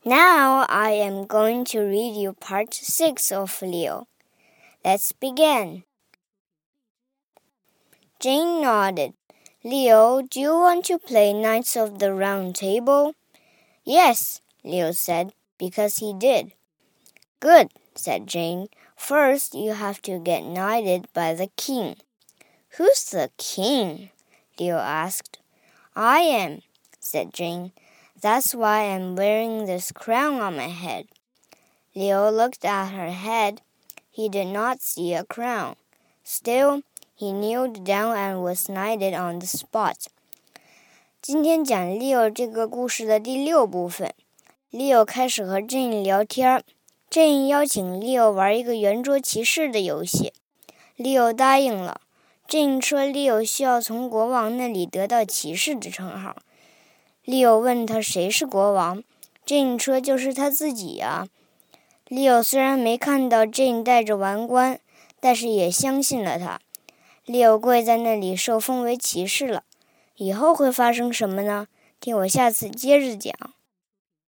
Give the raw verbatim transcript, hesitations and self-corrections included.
Now I am going to read you part six of Leo. Let's begin. Jane nodded. Leo, do you want to play Knights of the Round Table? Yes, Leo said, because he did. Good, said Jane. First, you have to get knighted by the king. Who's the king? Leo asked. I am, said Jane. That's why I'm wearing this crown on my head. Leo looked at her head. He did not see a crown. Still, he kneeled down and was knighted on the spot. 今天讲 Leo 这个故事的第六部分。Leo 开始和 Jane 聊天。Jane 邀请 Leo 玩一个圆桌骑士的游戏。Leo 答应了。Jane 说 Leo 需要从国王那里得到骑士的称号。Leo 问他谁是国王 ，Jane 说就是他自己呀、啊。Leo 虽然没看到 Jane 戴着王冠，但是也相信了他。Leo 跪在那里受封为骑士了。以后会发生什么呢？听我下次接着讲。